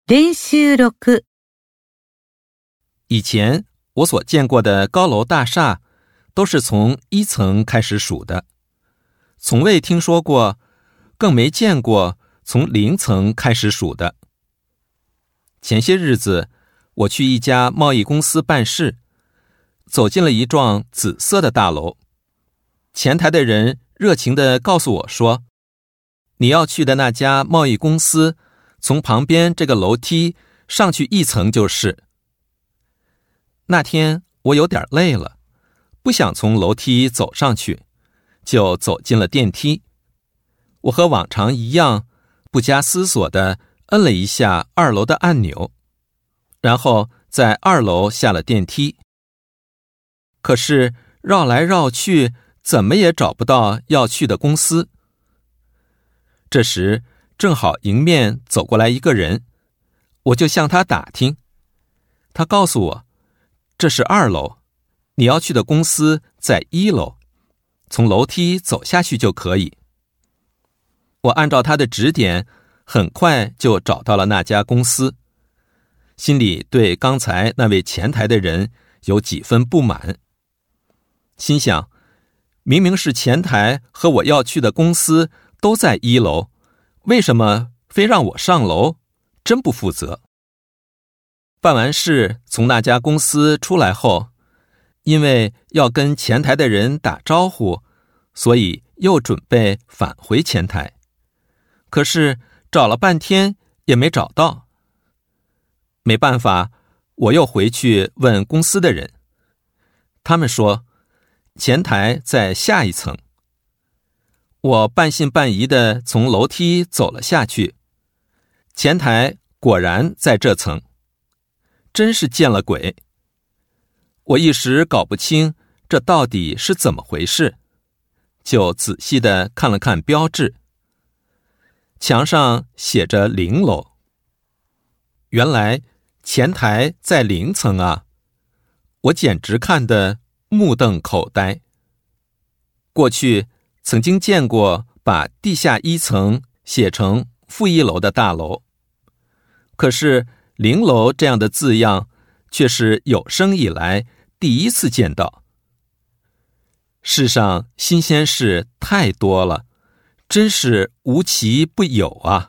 練習6。 以前我所见过的高楼大厦都是从1层开始数的，从未听说过，更没见过从0层开始数的。前些日子我去一家贸易公司办事，走进了一幢紫色的大楼，前台的人热情地告诉我说，你要去的那家贸易公司从旁边这个楼梯上去1层就是。那天我有点累了，不想从楼梯走上去，就走进了电梯。我和往常一样，不加思索地摁了一下2楼的按钮，然后在2楼下了电梯。可是绕来绕去，怎么也找不到要去的公司。这时正好迎面走过来一个人，我就向他打听。他告诉我，这是2楼，你要去的公司在1楼，从楼梯走下去就可以。我按照他的指点，很快就找到了那家公司，心里对刚才那位前台的人有几分不满，心想，明明是前台和我要去的公司都在1楼，为什么非让我上楼？真不负责。办完事从那家公司出来后，因为要跟前台的人打招呼，所以又准备返回前台。可是找了半天也没找到。没办法，我又回去问公司的人，他们说前台在下1层。我半信半疑地从楼梯走了下去，前台果然在这层，真是见了鬼。我一时搞不清这到底是怎么回事，就仔细地看了看标志，墙上写着0楼。原来前台在0层啊，我简直看得目瞪口呆。过去曾经见过把地下1层写成负1楼的大楼，可是0楼这样的字样却是有生以来第一次见到。世上新鲜事太多了，真是无奇不有啊。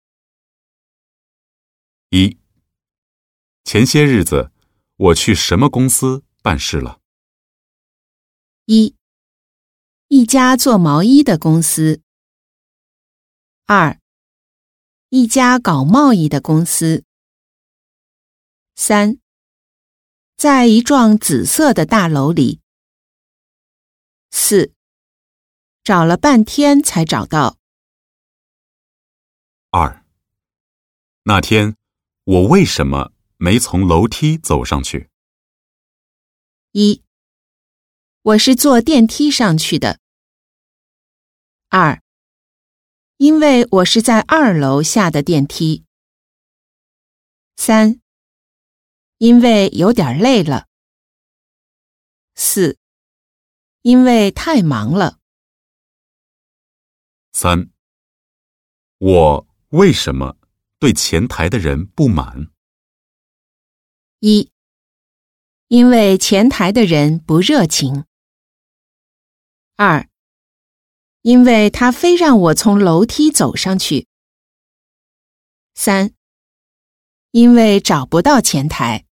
1. 前些日子我去什么公司办事了？ 1. 一家做毛衣的公司。 2. 一家搞贸易的公司。 3. 在一幢紫色的大楼里。 4. 找了半天才找到。 2. 那天我为什么没从楼梯走上去？ 1. 我是坐电梯上去的。 2. 因为我是在2楼下的电梯。 3. 因为有点累了。 4. 因为太忙了。 3. 我为什么对前台的人不满？ 1. 因为前台的人不热情。 2. 因为他非让我从楼梯走上去。 3. 因为找不到前台。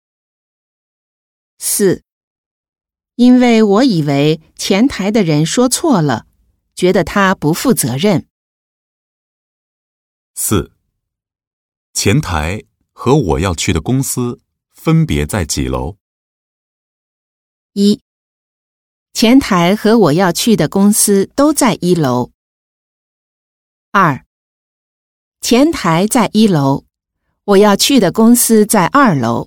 4. 因为我以为前台的人说错了，觉得他不负责任。 4. 前台和我要去的公司分别在几楼？ 1. 前台和我要去的公司都在1楼。 2. 前台在1楼，我要去的公司在2楼。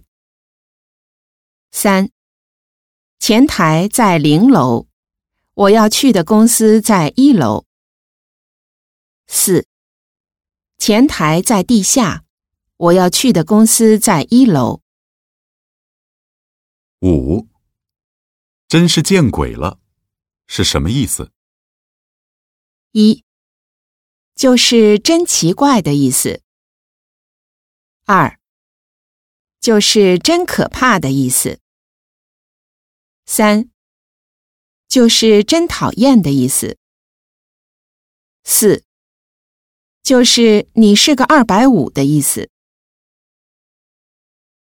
3. 前台在0楼，我要去的公司在1楼。 4. 前台在地下，我要去的公司在1楼。 5. 真是见鬼了，是什么意思？ 1. 就是真奇怪的意思。2. 就是真可怕的意思。3，就是真讨厌的意思。4，就是你是个250的意思。